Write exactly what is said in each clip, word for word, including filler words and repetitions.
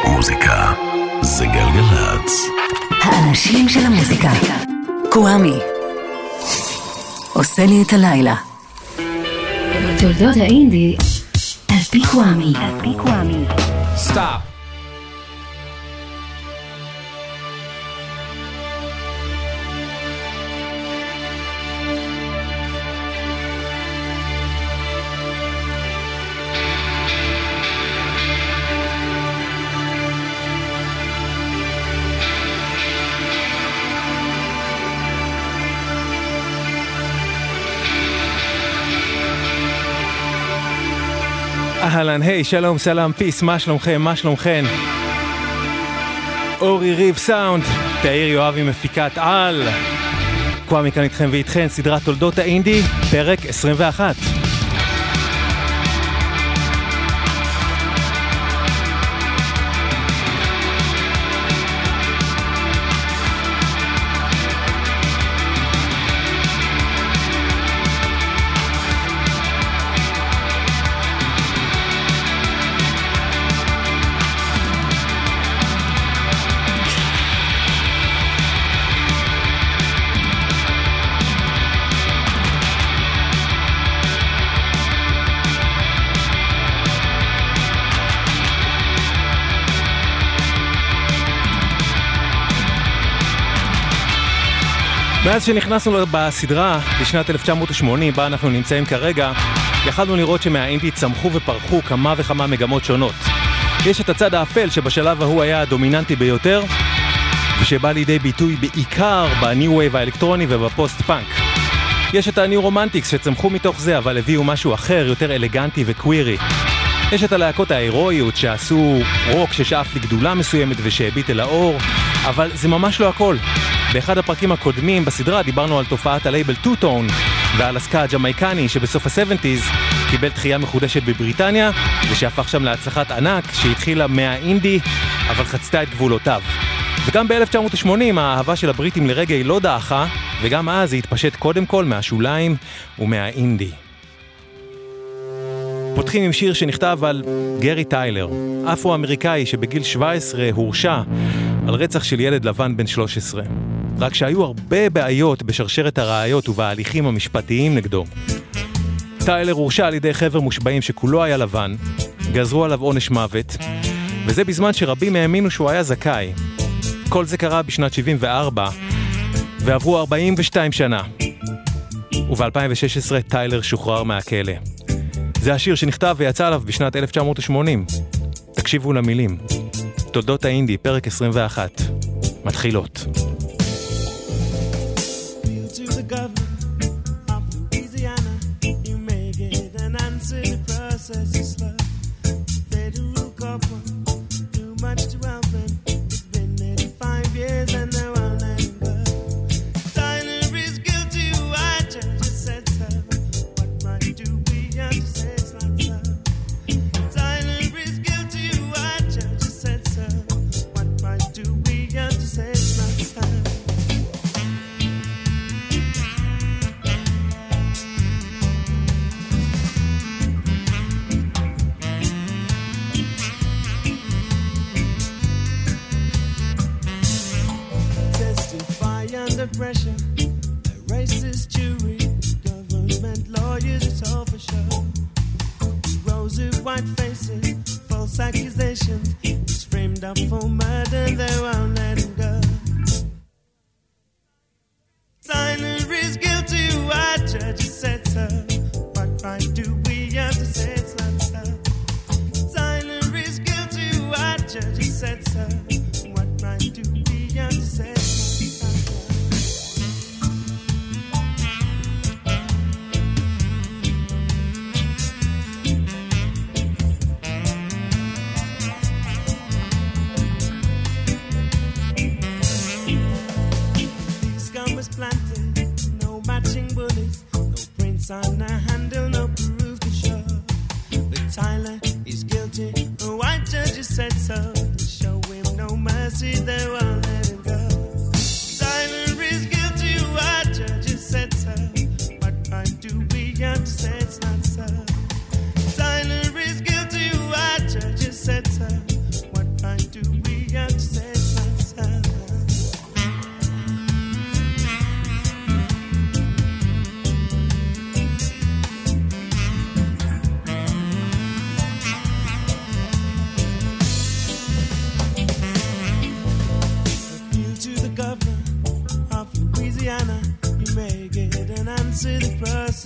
מוזיקה זה גלגלצ. האנשים של המוזיקה. קוואמי עושה לי את הלילה. תולדות האינדי על פי קוואמי. על פי קוואמי. סטאפ. אהלן, היי, שלום, סלם, פיס, מה שלומכם, מה שלומכם? אורי ריב סאונד, תאיר יואבי מפיקת על. קוואמי כאן איתכם ואיתכן, סדרת תולדות האינדי, פרק עשרים ואחת. מאז שנכנסנו בסדרה בשנת אלף תשע מאות ושמונים, בה אנחנו נמצאים כרגע, יכלנו לראות שמהאינדי צמחו ופרחו כמה וכמה מגמות שונות. יש את הצד האפל שבשלב ההוא היה הדומיננטי ביותר, ושבא לידי ביטוי בעיקר בניו וייב האלקטרוני ובפוסט פאנק. יש את הניו רומנטיקס שצמחו מתוך זה, אבל הביאו משהו אחר, יותר אלגנטי וקווירי. יש את הלהקות ההירואיות שעשו רוק ששאף לגדולה מסוימת ושהביט אל האור, אבל זה ממש לא הכל. באחד הפרקים הקודמים בסדרה דיברנו על תופעת הלייבל טו-טון ועל הסקה הג'מייקני שבסוף ה-שבעים קיבל תחייה מחודשת בבריטניה ושהפך שם להצלחת ענק שהתחילה מהאינדי אבל חצתה את גבולותיו. וגם ב-אלף תשע מאות ושמונים האהבה של הבריטים לרגע לא דעכה, וגם אז היא התפשט קודם כל מהשוליים ומהאינדי. פותחים עם שיר שנכתב על גרי טיילר, אפרו-אמריקאי שבגיל שבע עשרה הורשע על רצח של ילד לבן בן שלוש עשרה. רק שהיו הרבה בעיות בשרשרת הראיות ובהליכים המשפטיים נגדו. טיילר הורשע על ידי חבר מושבעים שכולו היה לבן, גזרו עליו עונש מוות, וזה בזמן שרבים האמינו שהוא היה זכאי. כל זה קרה בשנת שבעים וארבע, ועברו ארבעים ושתיים שנה. וב-אלפיים ושש עשרה טיילר שוחרר מהכלא. זה השיר שנכתב ויצא עליו בשנת אלף תשע מאות ושמונים. תקשיבו למילים. תולדות האינדי, פרק עשרים ואחת. מתחילות. Pressure, a racist jury, government lawyers, it's all for show. Rosy white faces, false accusations, he's framed up for murder, they won't let him go. Tyler is guilty, white judges said so. What right do we have to say it's not so? Tyler is guilty, white judges said so. What right do we have to say it's not so? On a handle, no proof to show. But Tyler is guilty, a white judge has said so. To show him no mercy, they won't let him go. Tyler is guilty, a white judge has said so. What right do we have to say it's not so? Tyler is guilty, a white judge has said so. What right do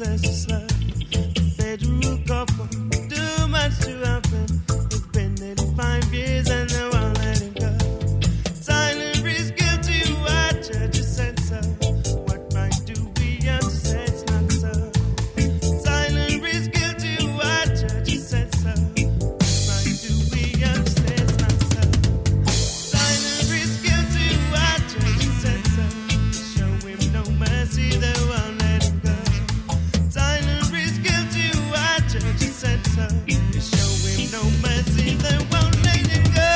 possesses love. The federal government too much too often. It's been nearly five years and they won't let him go. Tyler is guilty, why judges said so. What right do we have to say it's not so? Tyler is guilty, why judges said so. What right do we have to say it's not so? Tyler is guilty, why judges said so. Show him no mercy, they won't let him go. Tyler is guilty, why judges said so. Show him no mercy, they won't let him go.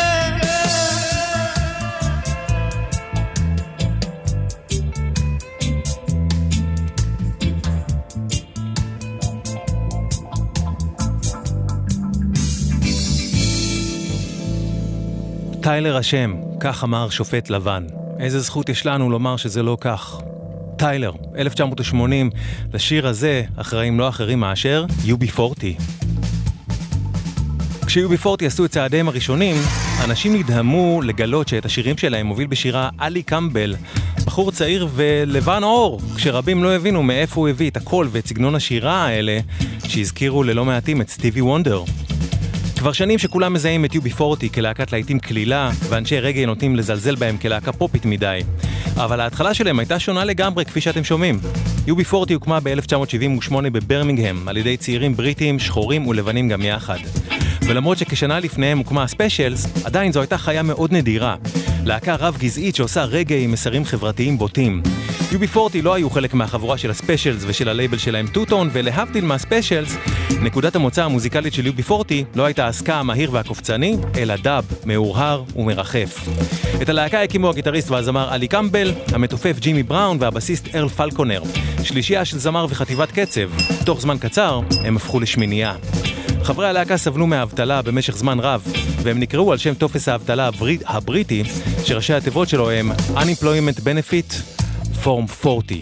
טיילר אשם, כך אמר שופט לבן. איזה זכות יש לנו לומר שזה לא כך? טיילר, אלף תשע מאות ושמונים, לשיר הזה אחראים לא אחרים מאשר יו בי פורטי. כש-יו בי פורטי עשו את צעדיהם הראשונים, אנשים נדהמו לגלות שאת השירים שלהם מוביל בשירה אלי קמבל, בחור צעיר ולבן אור, כשרבים לא הבינו מאיפה הוא הביא את הקול ואת סגנון השירה האלה, שהזכירו ללא מעטים את סטיבי וונדר. כבר שנים שכולם מזהים את יו בי פורטי כלהקת להיטים כלילה, ואנשי רגע נוטים לזלזל בהם כלהקה פופית מדי. אבל ההתחלה שלהם הייתה שונה לגמרי, כפי שאתם שומעים. יו בי פורטי הוקמה ב-אלף תשע מאות שבעים ושמונה בברמינגהם, על ידי צעירים בריטים, שחורים ולבנים גם יחד. ולמרות שכשנה לפניהם הוקמה הספיישלס, עדיין זו הייתה חיה מאוד נדירה. להקה רב גזעית שעושה רגע עם מסרים חברתיים בוטים. יו בי פורטי לא היו חלק מהחבורה של הספיישלס ושל הלייבל שלהם טוטון, ולהבדיל מהספיישלס, נקודת המוצא המוזיקלית של יו בי פורטי לא הייתה העסקה המהיר והקופצני, אלא דאב, מאורהר ומרחף. את הלהקה הקימו הגיטריסט והזמר אלי קמבל, המתופף ג'ימי בראון והבסיסט ארל פלקונר, שלישייה של זמר וחטיבת קצב. תוך זמן קצר הם הפכו לשמינייה. חברי הלהקה סבלו מהאבטלה במשך זמן רב, והם נקראו על שם טופס האבטלה הברית, הבריטי, שראשי התיבות שלו הם Unemployment Benefit Form ארבעים.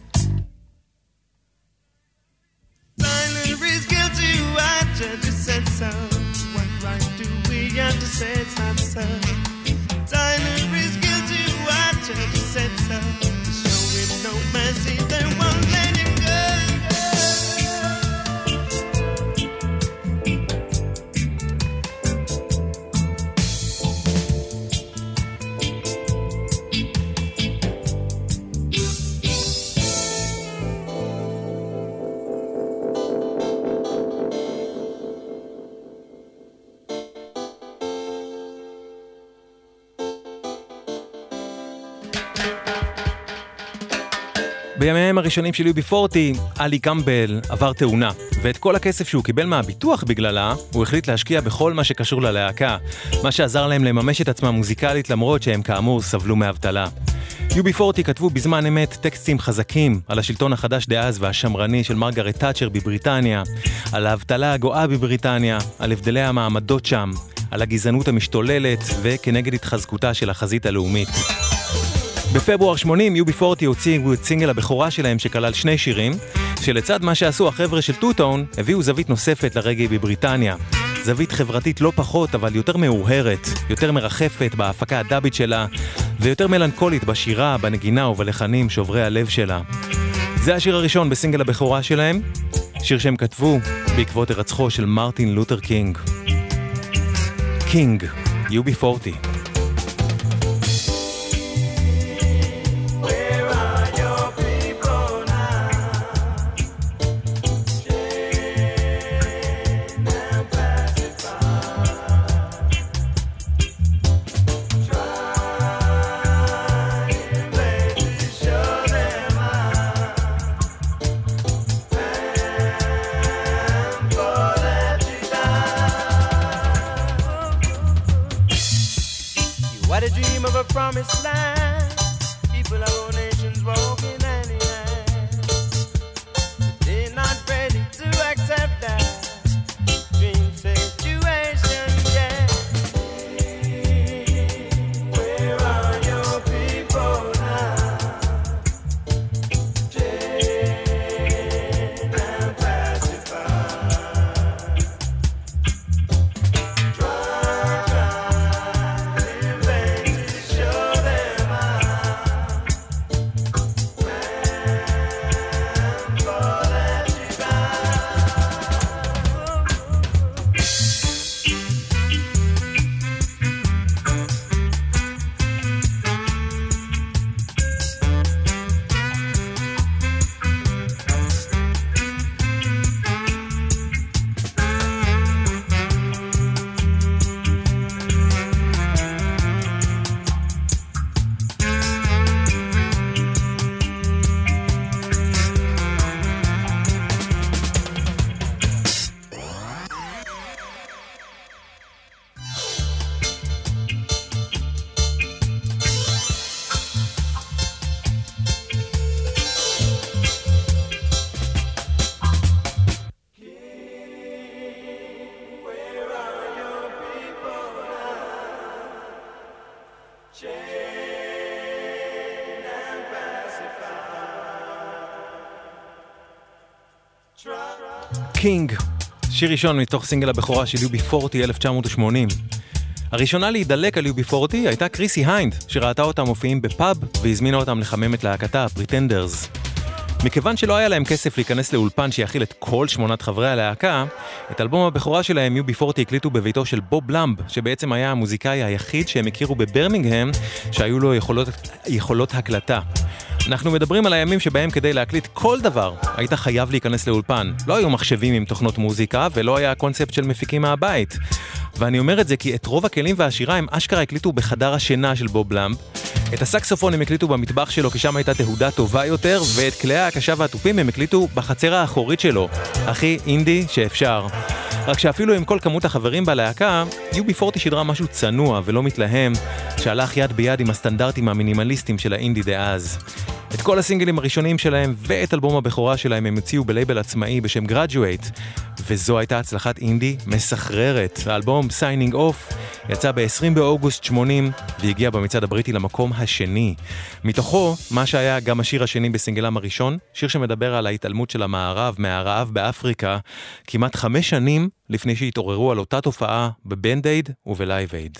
Tyler is guilty, why judges said so. What right do we have to say it's not so? Tyler is guilty, why judges said so. Show him no mercy, they won't let him go. בימיהם הראשונים של יו בי פורטי, אלי קמבל עבר תאונה, ואת כל הכסף שהוא קיבל מהביטוח בגללה, הוא החליט להשקיע בכל מה שקשור ללהקה, מה שעזר להם לממש את עצמם מוזיקלית למרות שהם כאמור סבלו מאבטלה. יו בי פורטי כתבו בזמן אמת טקסטים חזקים על השלטון החדש דאז והשמרני של מרגרט תאצ'ר בבריטניה, על האבטלה הגואה בבריטניה, על הבדלי המעמדות שם, על הגזענות המשתוללת וכנגד התחזקותה של החזית הלאומית. בפברואר שמונים יו בי פורטי הוציאו את סינגל הבכורה שלהם שכלל שני שירים, שלצד מה שעשו החבר'ה של טוטון, הביאו זווית נוספת לרגעי בבריטניה. זווית חברתית לא פחות, אבל יותר מאוהרת, יותר מרחפת בהפקה הדאבית שלה, ויותר מלנכולית בשירה, בנגינה ובלחנים שוברי הלב שלה. זה השיר הראשון בסינגל הבכורה שלהם, שיר שהם כתבו בעקבות הרצחו של מרטין לותר קינג. קינג, יו בי פורטי. Promised land, people of all nations walking hand in hand. They're not ready to accept that dream situation yet. Where are your people now? Chained and pacified. Try, try in vain to show them how. King, שיר ראשון מתוך סינגל הבכורה של יו בי פורטי אלף תשע מאות ושמונים. הראשונה להידלק על יו בי פורטי הייתה קריסי היינד, שראתה אותם מופיעים בפאב והזמינה אותם לחמם את להקתה, פריטנדרס. מכיוון שלא היה להם כסף להיכנס לאולפן שיכיל את כל שמונת חברי הלהקה, את אלבום הבכורה שלהם יו בי פורטי הקליטו בביתו של בוב למב, שבעצם היה המוזיקאי היחיד שהם הכירו בברמינגהם, שהיו לו יכולות, יכולות הקלטה. אנחנו מדברים על הימים שבהם כדי להקליט כל דבר היית חייב להיכנס לאולפן. לא היו מחשבים עם תוכנות מוזיקה ולא היה קונספט של מפיקים מהבית. ואני אומר את זה כי את רוב הכלים והשירה הם אשכרה הקליטו בחדר השינה של בוב למב. את הסקסופון הם הקליטו במטבח שלו כי שם הייתה תהודה טובה יותר, ואת כלי ההקשה והטופים הם הקליטו בחצר האחורית שלו. הכי אינדי שאפשר. רק שאפילו עם כל כמות החברים בלהקה, יו בי פורטי שדרה משהו צנוע ולא מתלהם, שהלך יד ביד עם הסטנדרטים המינימליסטיים של האינדי דאז. את כל הסינגלים הראשונים שלהם ואת אלבום הבכורה שלהם הם הוציאו בלייבל עצמאי בשם Graduate, וזו הייתה הצלחת אינדי מסחררת. האלבום Signing Off יצא ב-עשרים באוגוסט שמונים והגיע במצעד הבריטי למקום השני. מתוכו, מה שהיה גם השיר השני בסינגלם הראשון, שיר שמדבר על ההתעלמות של המערב מהרעב באפריקה, כמעט חמש שנים לפני שהתעוררו על אותה תופעה בבנד אייד ובלייב אייד.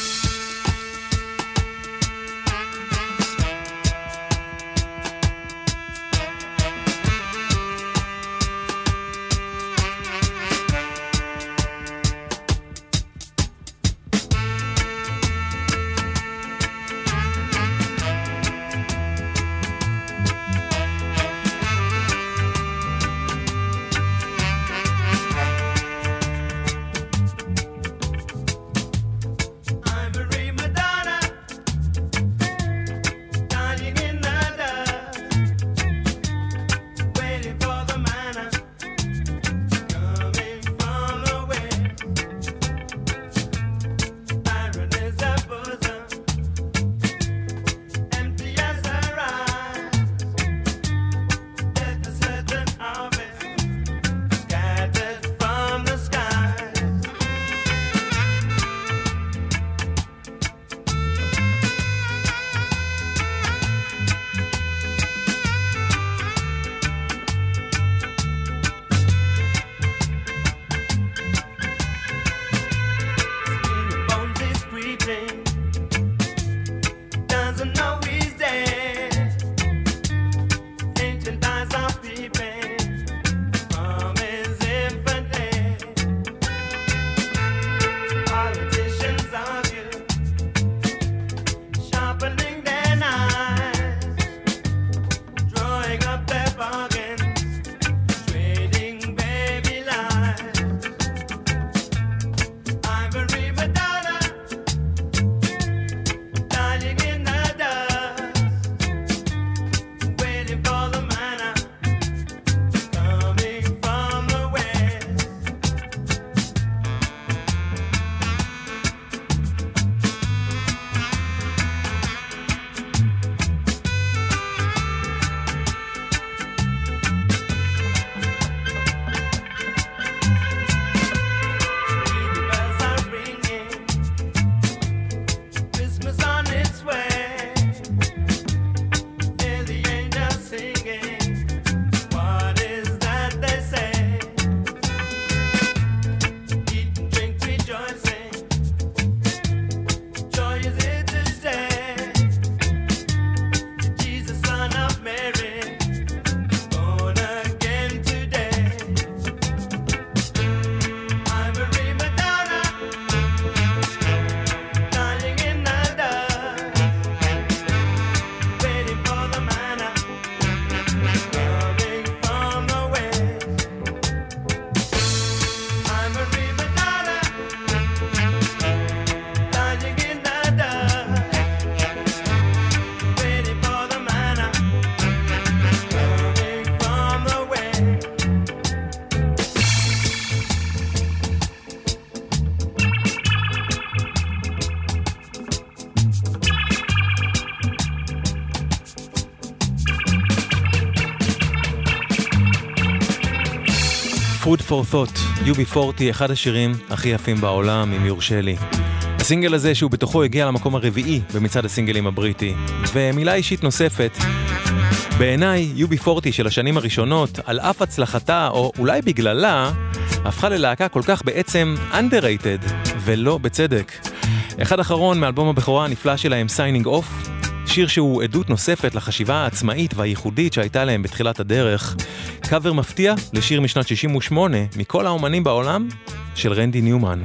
Food for Thought, יו בי פורטי, אחד השירים הכי יפים בעולם, אם יורשה לי. הסינגל הזה שהוא בתוכו הגיע למקום הרביעי במצעד הסינגלים הבריטי. ומילה אישית נוספת, בעיניי, יו בי פורטי של השנים הראשונות, על אף הצלחתה, או אולי בגללה, הפכה ללהקה כל כך בעצם underrated, ולא בצדק. אחד אחרון מאלבום הבכורה הנפלא שלהם, Signing Off, שיר שהוא עדות נוספת לחשיבה העצמאית והייחודית שהייתה להם בתחילת הדרך. קאבר מפתיע לשיר משנת שישים ושמונה, מכל האומנים בעולם, של רנדי ניומן.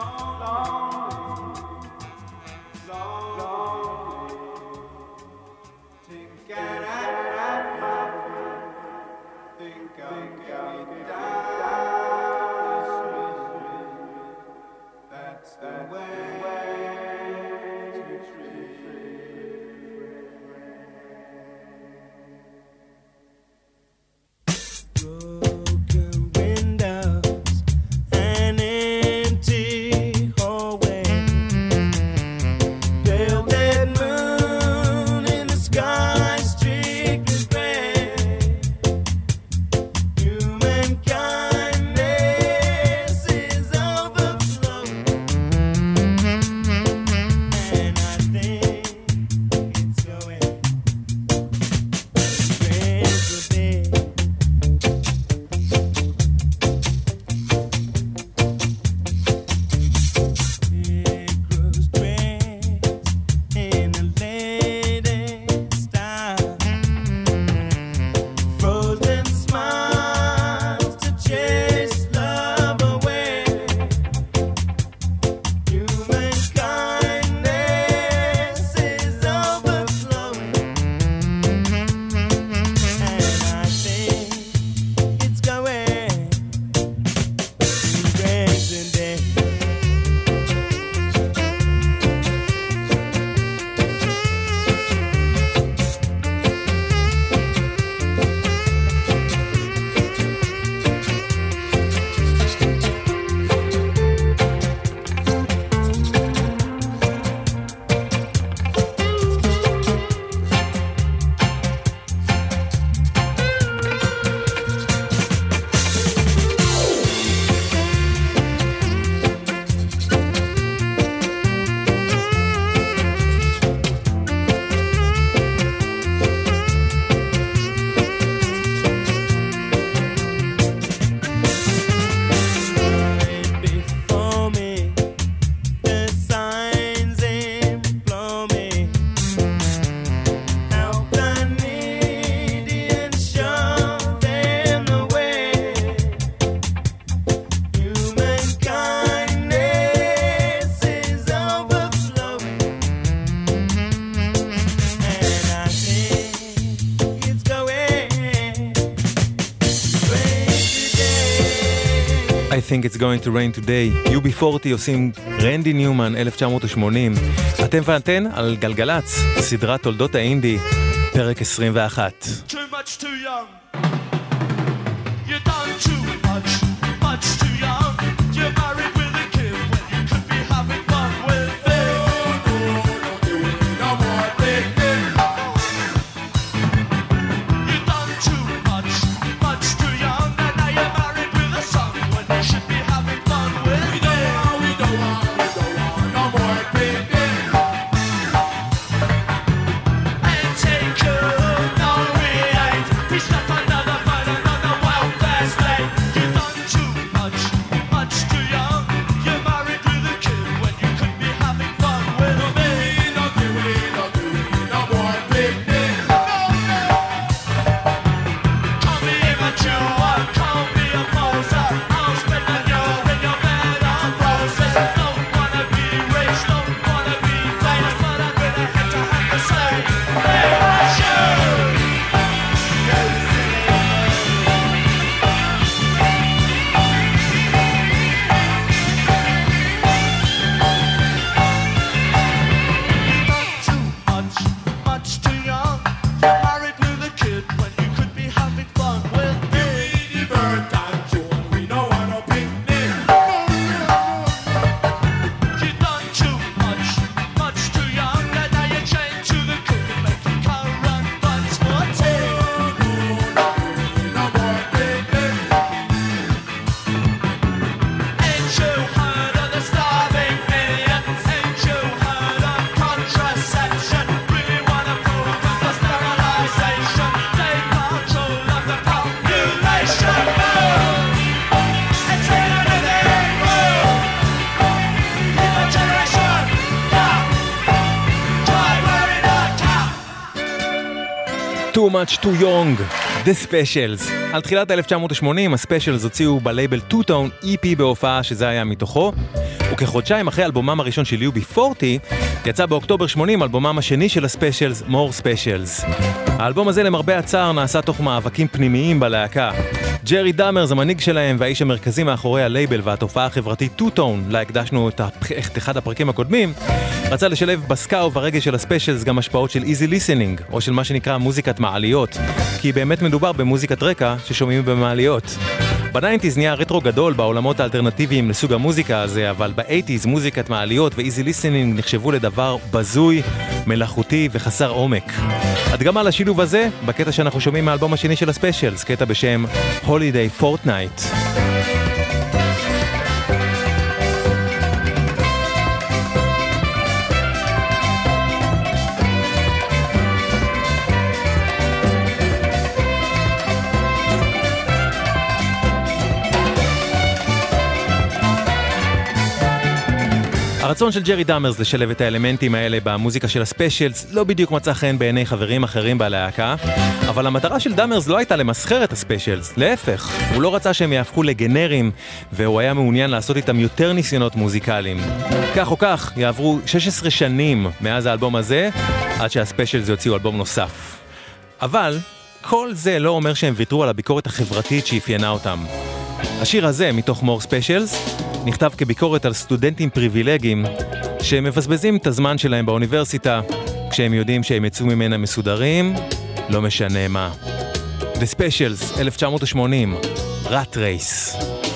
I think it's going to rain today. יו בי פורטי עושים רנדי ניומן אלף תשע מאות ושמונים. אתם ואתן על גלגלץ, סדרת תולדות האינדי, פרק עשרים ואחת. Too much too young. You done too much, much too young. You're married with a kid when you could be having fun with me. No, no, don't do it no more, baby. You done too much, much too young. And now you're married with a son when you should be having fun with me. We don't want, we don't want, we don't want no more, baby. And take her, no we ain't. We start Too Much Too Young, The Specials. על תחילת אלף תשע מאות ושמונים, הספיישלס הוציאו בלייבל טו טון אי פי בהופעה שזה היה מתוכו, וכחודשיים אחרי אלבומם הראשון של יו בי פורטי, יצא באוקטובר שמונים אלבומם השני של הספיישלס, More Specials. האלבום הזה למרבה הצער נעשה תוך מאבקים פנימיים בלהקה. ג'רי דאמרס, המנהיג שלהם והאיש המרכזי מאחורי הלייבל והתופעה החברתית טו טון, לה הקדשנו את, הפ... את אחד הפרקים הקודמים, רצה לשלב בסקה וברגע של הספיישלס גם השפעות של easy listening, או של מה שנקרא מוזיקת מעליות, כי באמת מדובר במוזיקת רקע ששומעים במעליות. בניינטיז נהיה רטרו גדול בעולמות האלטרנטיביים לסוג המוזיקה הזה, אבל באייטיז מוזיקת מעליות ו-easy listening נחשבו לדבר בזוי, מלאכותי וחסר עומק. הדגמה לשילוב הזה בקטע שאנחנו שומעים מהאלבום השני של הספיישלס, קטע בשם Holiday Fortnight. הרצון של ג'רי דאמרס לשלב את האלמנטים האלה במוזיקה של הספיישלס לא בדיוק מצא חן בעיני חברים אחרים בלהקה, אבל המטרה של דאמרס לא הייתה למסחר את הספיישלס, להפך, הוא לא רצה שהם יהפכו לגנרים, והוא היה מעוניין לעשות איתם יותר ניסיונות מוזיקליים. כך או כך, יעברו שש עשרה שנים מאז האלבום הזה, עד שהספיישלס יוציאו אלבום נוסף. אבל כל זה לא אומר שהם ויתרו על הביקורת החברתית שאפיינה אותם. השיר הזה, מתוך More Specials, נכתב כביקורת על סטודנטים פריבילגיים שמבזבזים את הזמן שלהם באוניברסיטה כשהם יודעים שהם יצאו ממנה מסודרים, לא משנה מה. The Specials, אלף תשע מאות ושמונים, Rat Race.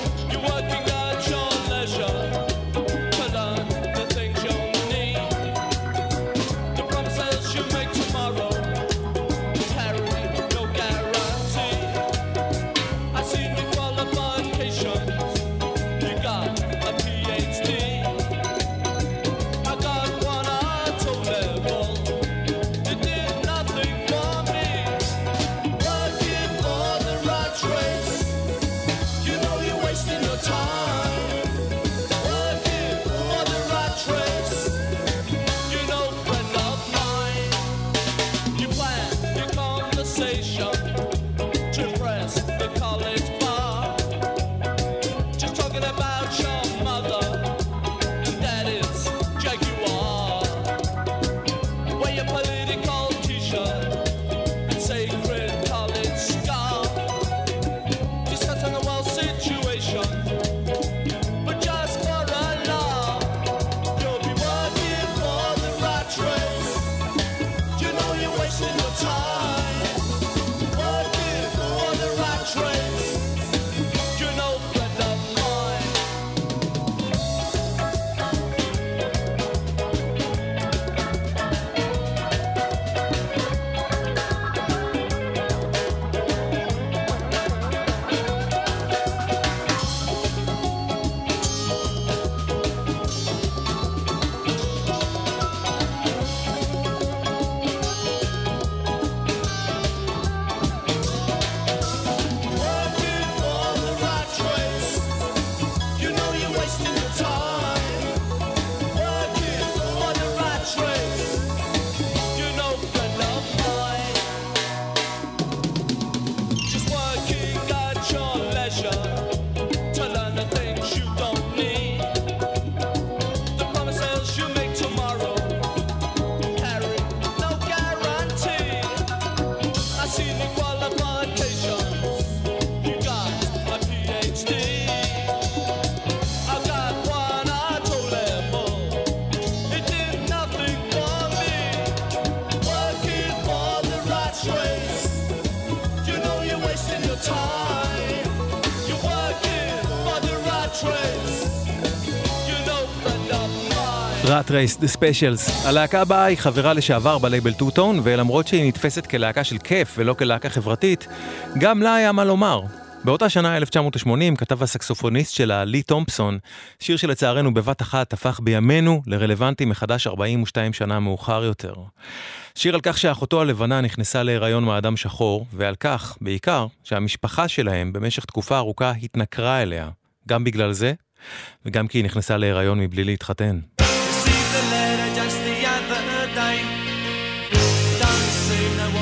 Rat Race, The Specials. הלהקה הבאה היא חברה לשעבר בלייבל טו טון, ולמרות שהיא נתפסת כלהקה של כיף ולא כלהקה חברתית, גם לה היה מה לומר. באותה שנה, אלף תשע מאות ושמונים, כתב הסקסופוניסט שלה, לי תומפסון, שיר שלצערנו בבת אחת הפך בימינו לרלוונטי מחדש ארבעים ושתיים שנה מאוחר יותר. שיר על כך שאחותו הלבנה נכנסה להיריון מאדם שחור, ועל כך, בעיקר, שהמשפחה שלהם במשך תקופה ארוכה התנכרה אליה. גם בגלל זה, וגם כי היא נכנסה להיריון מבלי להתחתן. Just the other day, don't seem to wanna know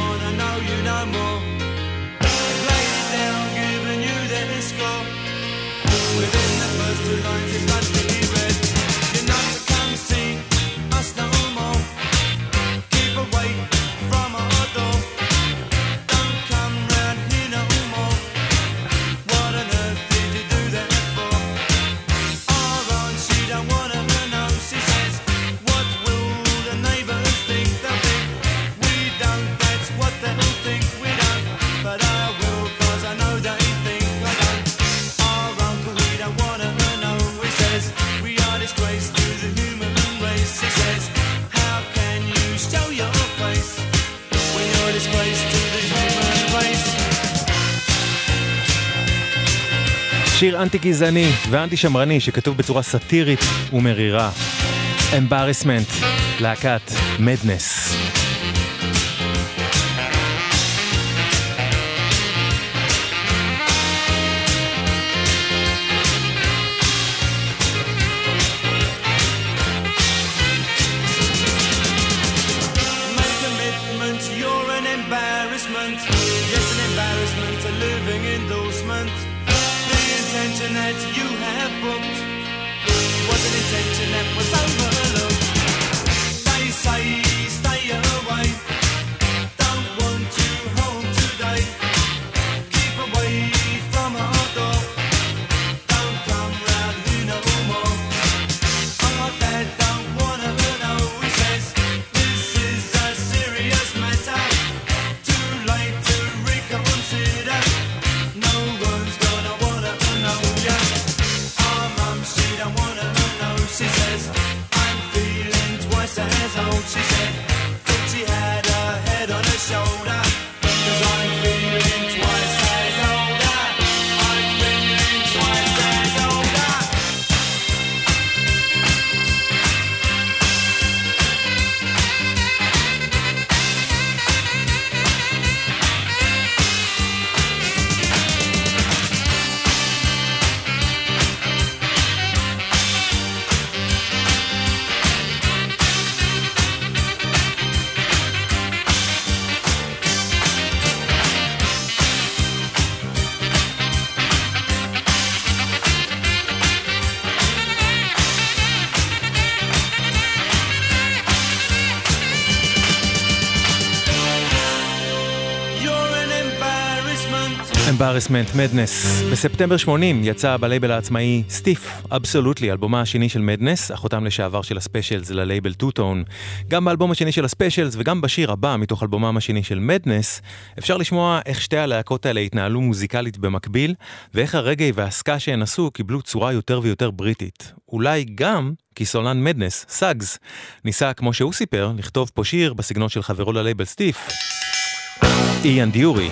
know you no more. They've laid it down, given you their score. Within the first two lines it must be read. You're not to come see us no more. Keep away from our door. Don't come round here no more. What on earth did you do that for? Our aunt, she don't wanna know. She says, what will the neighbours think? They'll think we don't, that's what they'll think. We don't, but I will, cause I know they think I don't. Our uncle, he don't wanna know. He says, we are disgrace to the human race. He says, how can you show your face when you're disgrace to the human race? שיר אנטי גזעני ואנטי שמרני שכתוב בצורה סאטירית ומרירה. Embarrassment, להקת מדנס. Make commitment, you're an embarrassment. Yes, an embarrassment, a living endorsement. The intention that you have booked was an intention that was overlooked. They say stay away, don't want you home today. Keep away from our door, don't come round here no more. Our dad don't wanna know, he says, this is a serious matter. Too late to reconsider, no one's gonna wanna know ya. Our mum, she don't wanna know, she says, I'm feeling twice as old. She said, thought she had her head on her shoulder, cause I'm feeling twice as older. I'm feeling twice as older. You're an embarrassment. Embarrassment, מדנס. בספטמבר שמונים יצא בלייבל העצמאי סטיף, אבסולוטלי, אלבומה השני של מדנס, החותם לשעבר של הספיישלס ללייבל טו-טון. גם באלבום השני של הספיישלס וגם בשיר הבא מתוך אלבומם השני של מדנס, אפשר לשמוע איך שתי הלהקות האלה התנהלו מוזיקלית במקביל, ואיך הרגעי והסקה שהן עשו קיבלו צורה יותר ויותר בריטית. אולי גם כי סולן מדנס, סאגס, ניסה, כמו שהוא סיפר, לכתוב פה שיר בסגנון של חברו ללייבל סטיף, איאן דיורי.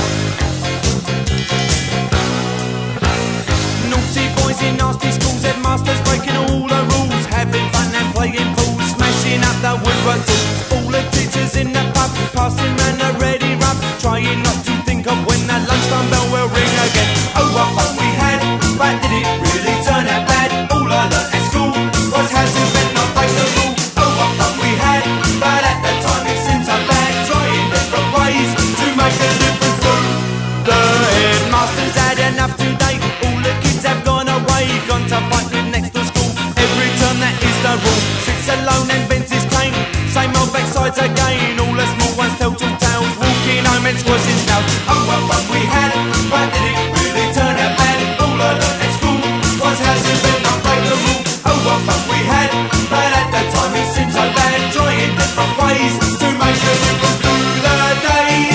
Naughty boys in nasty schools, headmasters breaking all the rules, having fun and playing fools, smashing up the woodwork tools. All the teachers in the pub, passing round a ready rub, trying not to think of when the lunchtime bell will ring again. Oh, what fun we had, but did it really turn out bad? All I learnt at school was how to bend, not break the rule. Oh, what fun we had, but at the time it seemed so bad, trying different ways to make a difference to the headmasters had enough today. All the kids have gone away, gone to fight with next to school. Every term that is the rule. Sits alone and bends his cane. Same old backsides again. All the small ones tell tall tales, walking home and squashing snails. Oh, what fun we had, but did it really turn out bad? All I learnt at school was how to bend, not break the rule. Oh, what fun we had, but at the time it seemed so bad, trying different ways to make a difference through the days.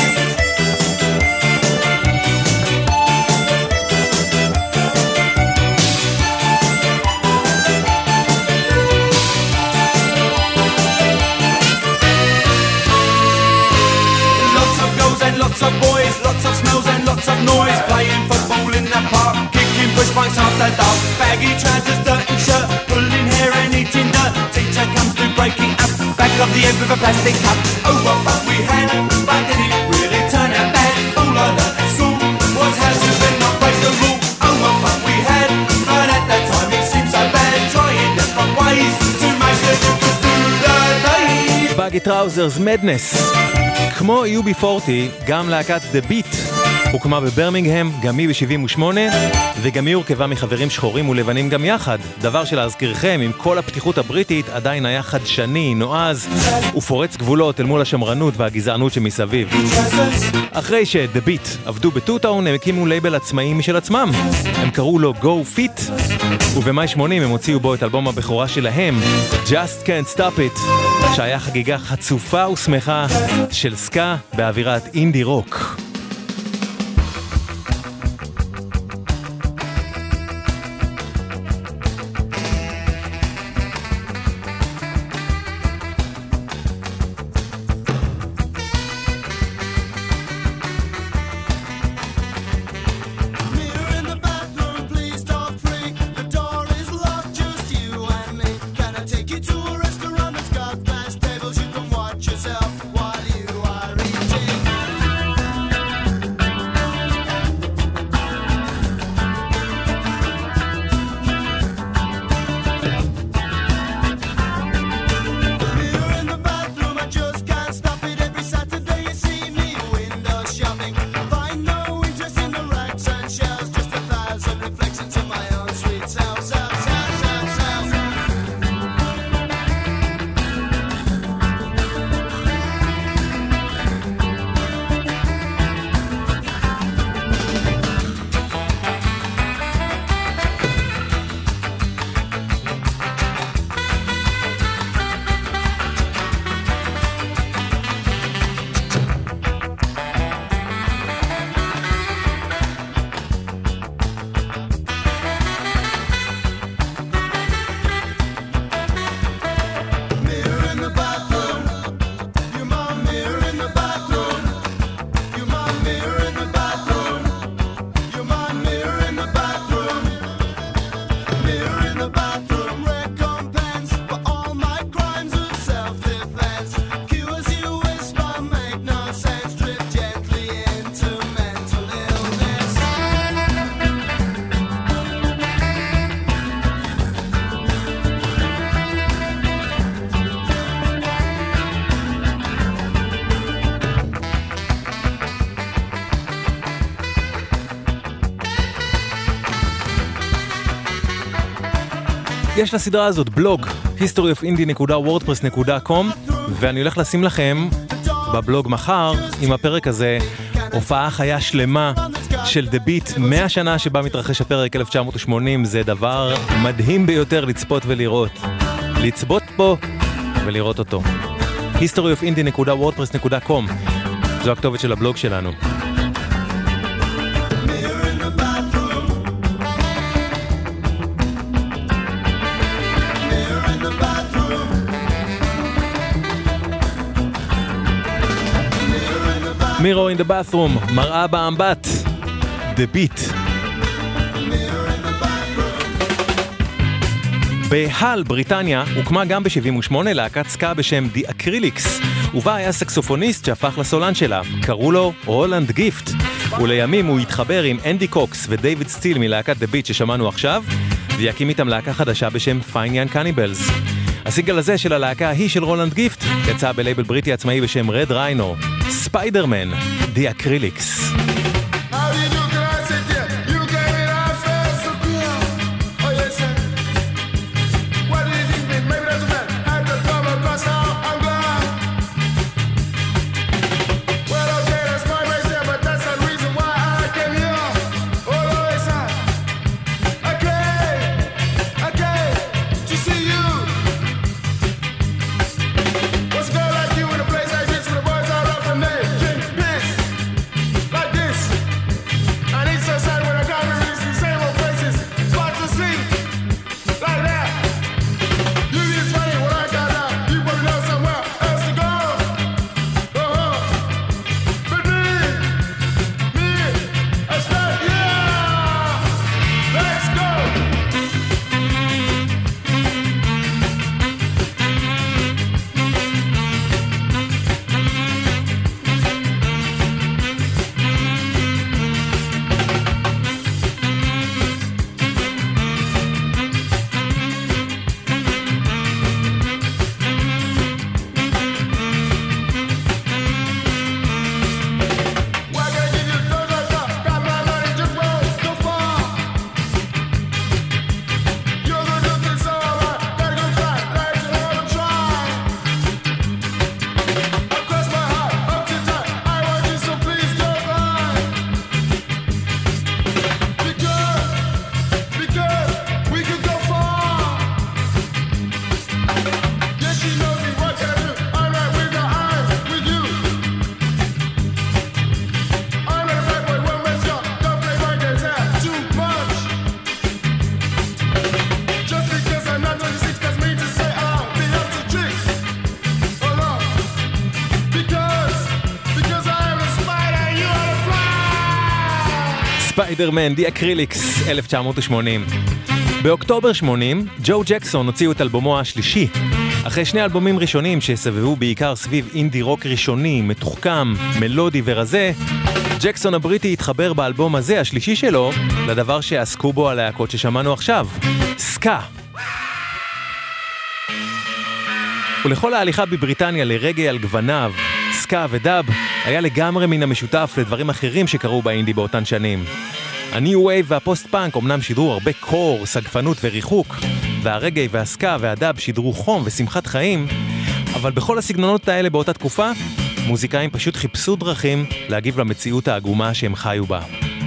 Lots of boys, lots of smells and lots of noise, playing football in the park, kicking push bikes after dark, baggy trousers, dirty shirt, pulling hair and eating dirt. Teacher comes to breaking up, back of the end with a plastic cup. Oh, what fun we had, but did it really turn out bad? All I learnt at school was how to bend, not break the rule. Oh, what fun we had, but at that time it seemed so bad, trying different ways to make a difference through the days. baggy trousers, מדנס. כמו יו בי ארבעים, גם להקת The Beat הוקמה בברמינגהם, גם היא ב-שבעים ושמונה, וגם היא הורכבה מחברים שחורים ולבנים גם יחד, דבר שלהזכירכם, עם כל הפתיחות הבריטית, עדיין היה חדשני, נועז, ופורץ גבולות אל מול השמרנות והגזענות שמסביב. אחרי ש-The Beat עבדו בטוטאון, הם הקימו לייבל עצמאי משל עצמם. הם קראו לו Go Fit, ובמאי שמונים הם הוציאו בו את אלבום הבכורה שלהם, Just Can't Stop It, שהיה חגיגה חצופה ושמחה של סקה באווירת אינדי רוק. יש לסדרה הזאת בלוג, היסטורי אוף אינדי דוט וורדפרס דוט קום, ואני הולך לשים לכם בבלוג מחר, עם הפרק הזה, הופעה חיה שלמה של The Beat, מאה שנה שבה מתרחש הפרק אלף תשע מאות שמונים, זה דבר מדהים ביותר לצפות ולראות. לצפות פה ולראות אותו. היסטורי אוף אינדי דוט וורדפרס דוט קום, זו הכתובת של הבלוג שלנו. מירו in the bathroom, מראה באמבט, The Beat. בהל, בריטניה, הוקמה גם ב-שבעים ושמונה להקת סקה בשם The Acrylics, ובה היה סקסופוניסט שהפך לסולן שלה, קראו לו רולנד גיפט, ולימים הוא התחבר עם אנדי קוקס ודייוויד סטיל מלהקת The Beat ששמענו עכשיו, ויקים איתם להקה חדשה בשם Fine Young Cannibals. הסינגל הזה של הלהקה היא של רולנד גיפט, יצא בלייבל בריטי עצמאי בשם Red Rhino, Spider-Man, The Acrylics. This ספיידרמן, די אקריליקס, אלף תשע מאות ושמונים. באוקטובר שמונים, ג'ו ג'קסון הוציאו את אלבומו השלישי. אחרי שני אלבומים ראשונים שסבבו בעיקר סביב אינדי רוק ראשוני, מתוחכם, מלודי ורזה, ג'קסון הבריטי התחבר באלבום הזה, השלישי שלו, לדבר שעסקו בו הלהקות ששמענו עכשיו, סקה. ולכל ההליכה בבריטניה לרגע על גווניו, סקה ודאב, היה לגמרי מן המשותף לדברים אחרים שקרו באינדי באותן שנים. הניו וייב והפוסט-פאנק אומנם שידרו הרבה קור, סגפנות וריחוק, והרגעי והסקה והדאב שידרו חום ושמחת חיים, אבל בכל הסגנונות האלה באותה תקופה, מוזיקאים פשוט חיפשו דרכים להגיב למציאות העגומה שהם חיו בה.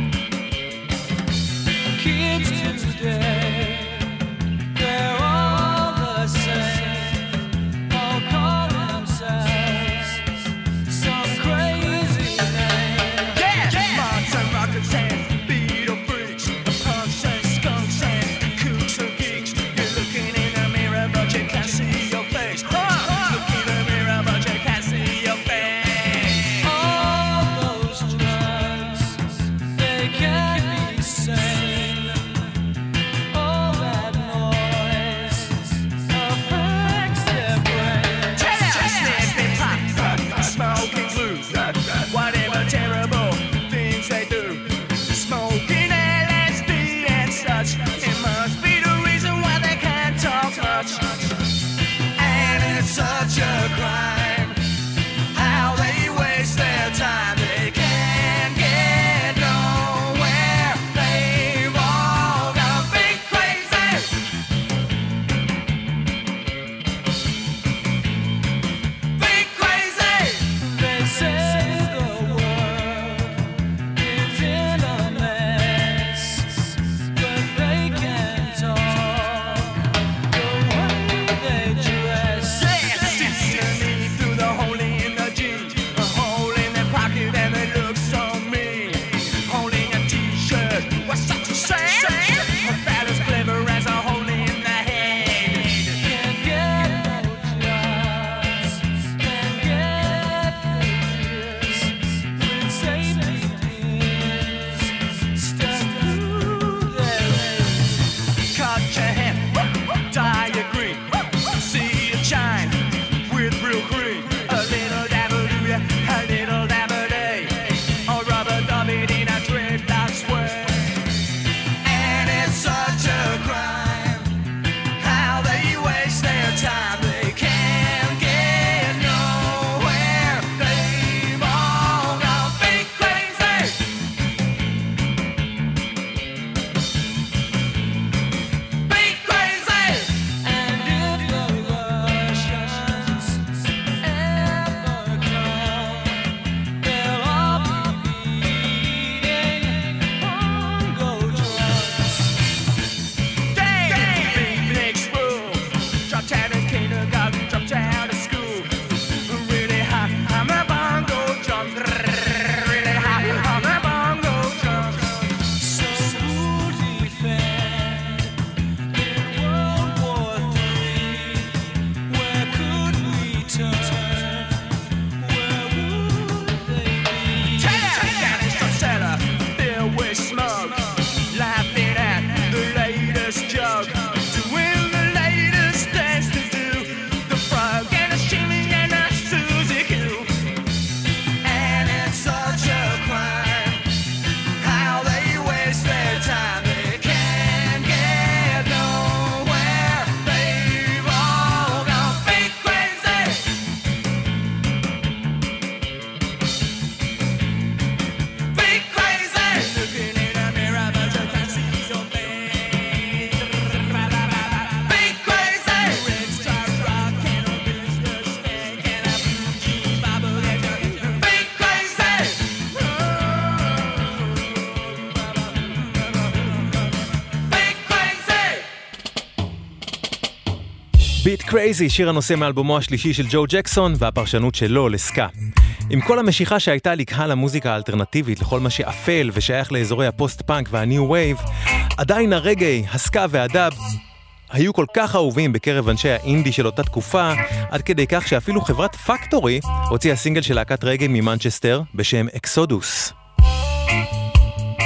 ביט קרייזי, שיר הנושא מאלבומו השלישי של ג'ו ג'קסון והפרשנות שלו לסקה. עם כל המשיכה שהייתה לקהל המוזיקה האלטרנטיבית לכל מה שאפל ושייך לאזורי הפוסט-פאנק והניו וייב, עדיין הרגעי, הסקה והדאב היו כל כך אהובים בקרב אנשי האינדי של אותה תקופה, עד כדי כך שאפילו חברת פקטורי הוציאה סינגל של להקת רגעי ממנצ'סטר בשם אקסודוס.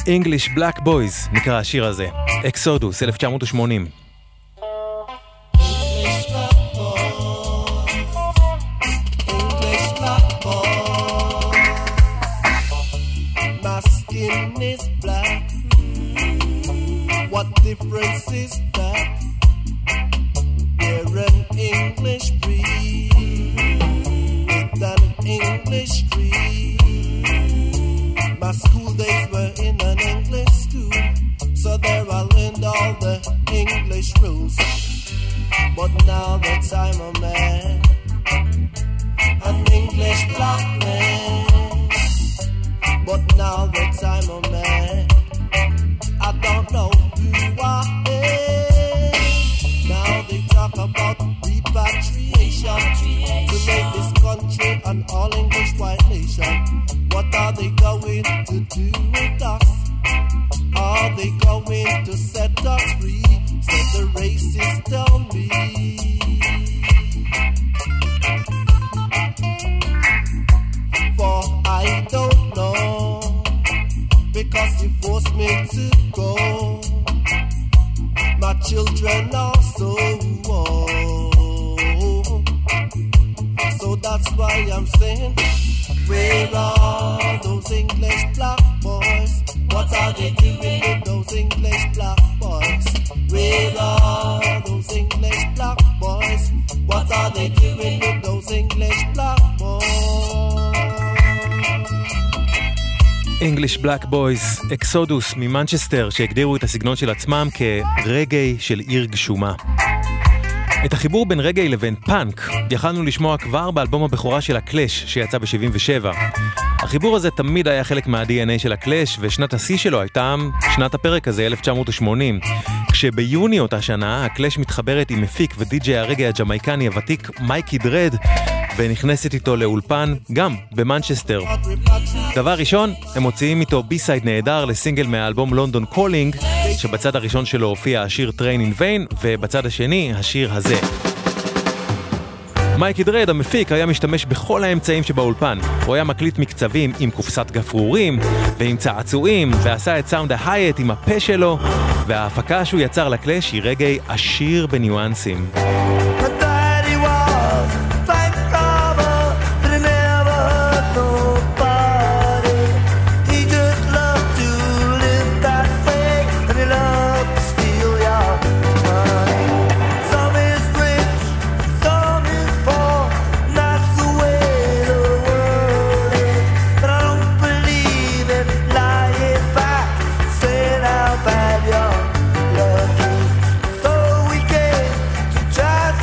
English Black Boys נקרא השיר הזה, אקסודוס, אלף תשע מאות ושמונים. What difference is that? We're an English breed with an English creed. My school days were in an English school, so there I learned all the English rules. But now that I'm a man, an English black man. But now that I'm a man, I don't know who I am. Now they talk about repatriation to make this country an all-English white nation. What are they going to do with us? Are they going to set us free? So the racists tell me. For I don't know, because you forced me to go. My children also old. So that's why I'm saying, where are those English black boys? What are they doing with those English black boys? Where are those English black boys? What are they doing with those English black boys? English Black Boys, אקסודוס ממנצ'סטר, שהגדירו את הסגנון של עצמם כרגעי של עיר גשומה. את החיבור בין רגעי לבין פאנק יכלנו לשמוע כבר באלבום הבכורה של הקלאש שיצא ב-שבעים ושבע. החיבור הזה תמיד היה חלק מה-די אן איי של הקלאש, ושנת השיא שלו הייתה שנת הפרק הזה, אלף תשע מאות ושמונים. כשביוני אותה שנה הקלאש מתחברת עם מפיק ודי-ג'יי הרגעי הג'מייקני הוותיק מייקי דרד, ונכנסת איתו לאולפן גם במנצ'סטר. דבר ראשון, הם מוציאים איתו בי-סייד נהדר לסינגל מהאלבום לונדון קולינג, שבצד הראשון שלו הופיע השיר Train in Vain, ובצד השני השיר הזה. מייקי דרד, המפיק, היה משתמש בכל האמצעים שבאולפן. הוא היה מקליט מקצבים עם קופסת גפרורים ועם צעצועים, ועשה את סאונד ההייט עם הפה שלו, וההפקה שהוא יצר לקלאש היא רגעי עשיר בניואנסים. Try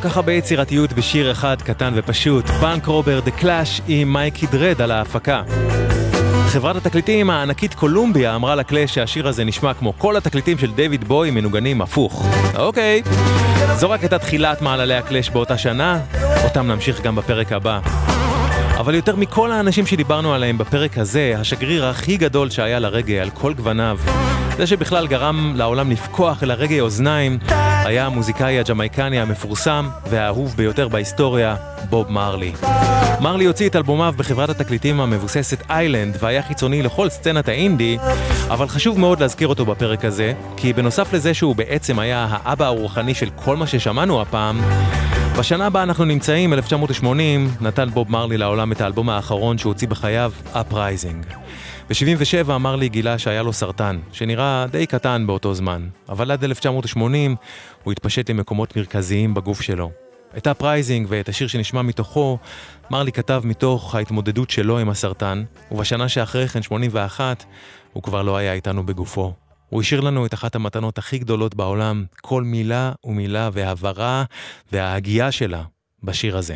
כך הרבה יצירתיות בשיר אחד קטן ופשוט. פאנק רובר דה קלאש עם מייקי דרד על ההפקה. חברת התקליטים הענקית קולומביה אמרה לקלאש שהשיר הזה נשמע כמו כל התקליטים של דיוויד בוי מנוגנים הפוך. אוקיי, זו רק הייתה תחילת מעללי הקלאש באותה שנה, אותם נמשיך גם בפרק הבא. אבל יותר מכל האנשים שדיברנו עליהם בפרק הזה, השגריר הכי גדול שהיה לרגע על כל גווניו, זה שבכלל גרם לעולם לפקוח אל הרגע אוזניים, היה המוזיקאי הג'מייקני המפורסם והאהוב ביותר בהיסטוריה, בוב מרלי. מרלי הוציא את אלבומיו בחברת התקליטים המבוססת איילנד והיה חיצוני לכל סצנת האינדי, אבל חשוב מאוד להזכיר אותו בפרק הזה, כי בנוסף לזה שהוא בעצם היה האבא הרוחני של כל מה ששמענו הפעם, בשנה הבאה אנחנו נמצאים, אלף תשע מאות שמונים, נתן בוב מרלי לעולם את האלבום האחרון שהוא הוציא בחייו, Uprising. ב-שבעים ושבע מרלי גילה שהיה לו סרטן, שנראה די קטן באותו זמן, אבל עד אלף תשע מאות שמונים הוא התפשט למקומות מרכזיים בגוף שלו. את Uprising ואת השיר שנשמע מתוכו, מרלי כתב מתוך ההתמודדות שלו עם הסרטן, ובשנה שאחרי כן, שמונים ואחת, הוא כבר לא היה איתנו בגופו. הוא השאיר לנו את אחת המתנות הכי גדולות בעולם, כל מילה ומילה והעברה וההגייה שלה בשיר הזה.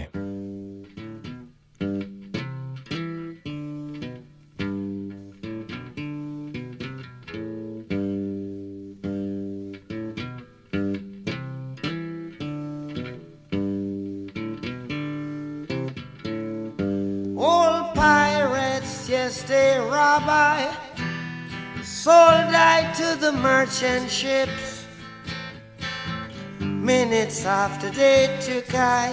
All pirates, yes, they rob I, sold I to the merchant ships. Minutes after they took I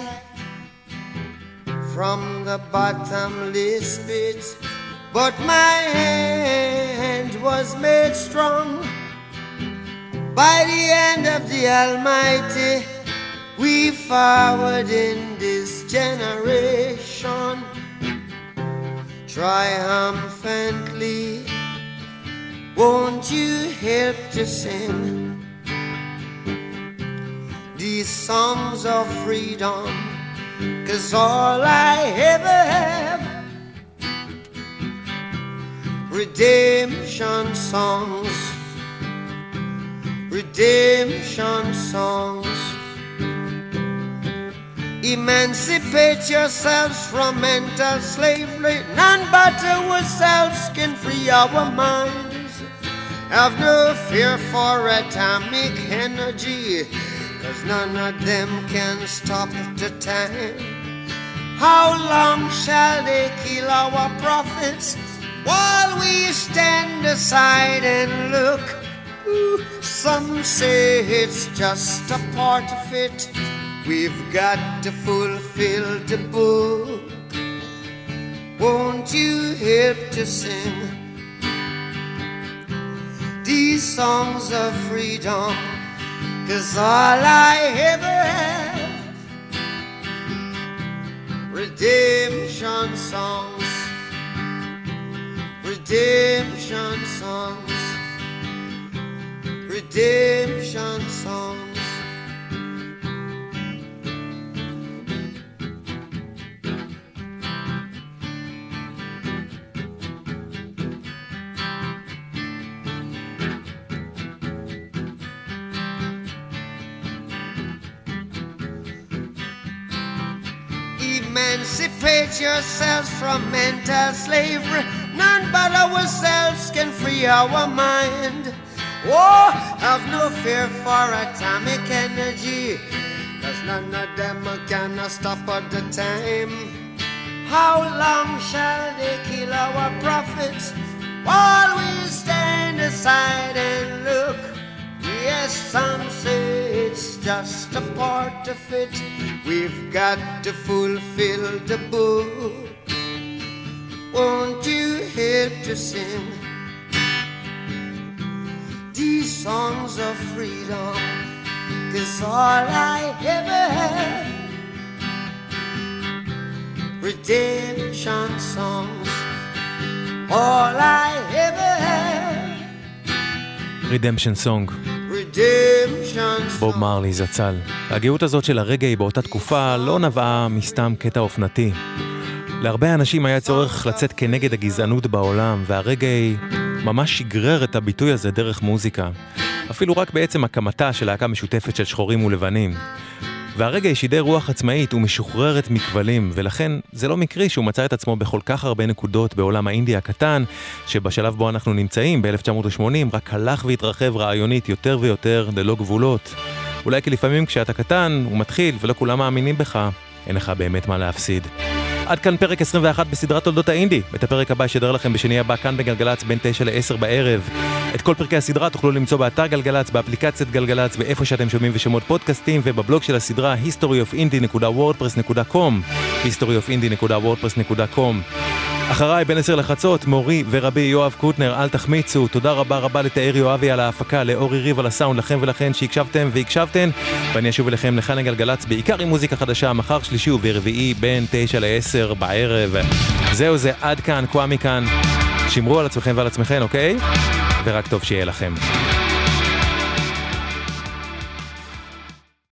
from the bottomless pit, but my hand was made strong by the hand of the Almighty. We forward in this generation triumphantly. Won't you help to sing these songs of freedom? 'Cause all I ever have, redemption songs, redemption songs. Emancipate yourselves from mental slavery. None but ourselves can free our minds. Have no fear for atomic energy, 'cause none of them can stop the time. How long shall they kill our prophets while we stand aside and look? Ooh, some say it's just a part of it. We've got to fulfill the book. Won't you help to sing these songs of freedom? 'Cause all I ever have, redemption songs, redemption songs, redemption songs. Emancipate yourselves from mental slavery. None but ourselves can free our mind. Oh, have no fear for atomic energy, 'cause none of them can stop at the time. How long shall they kill our prophets while we stand aside and look? Yes, some say it's just a part of it. We've got to fulfill the book. Won't you help to sing these songs of freedom? 'Cause all I ever have, redemption songs. All I ever have, Redemption Song. בוב מרלי זצ"ל. הגאות הזאת של הרגע היא באותה תקופה לא נבעה מסתם קטע אופנתי. להרבה אנשים היה צורך לצאת כנגד הגזענות בעולם, והרגע ממש שגרר את הביטוי הזה דרך מוזיקה. אפילו רק בעצם הקמתה של להקה משותפת של שחורים ולבנים. והרגע היא שידר רוח עצמאית ומשוחררת מכבלים, ולכן זה לא מקרי שהוא מצא את עצמו בכל כך הרבה נקודות בעולם האינדי הקטן, שבשלב בו אנחנו נמצאים ב-אלף תשע מאות ושמונים רק הלך והתרחב רעיונית יותר ויותר ללא גבולות. אולי כי לפעמים כשאתה קטן ומתחיל ולא כולם מאמינים בך, אין לך באמת מה להפסיד. עד כאן פרק עשרים ואחת בסדרת תולדות האינדי. את הפרק הבא ישדר לכם בשני הבא כאן בגלגלץ בין תשע לעשר בערב. את כל פרקי הסדרה תוכלו למצוא באתר גלגלץ, באפליקציית גלגלץ ואיפה שאתם שומעים ושמות פודקאסטים, ובבלוג של הסדרה היסטורי אוף אינדי דוט וורדפרס דוט קום היסטורי אוף אינדי דוט וורדפרס דוט קום. אחריי בין עשר לחצות, מורי ורבי יואב קוטנר, אל תחמיצו. תודה רבה רבה לתאיר יואבי על ההפקה, לאורי ריב על הסאונד, לכם ולכן שהקשבתם והקשבתן, ואני אשוב אליכם לכאן הגלגלץ בעיקר עם מוזיקה חדשה, מחר שלישי וברביעי בין תשע לעשר בערב. זהו זה, עד כאן, קוואמי כאן. שמרו על עצמכם ועל עצמכם, אוקיי? ורק טוב שיהיה לכם.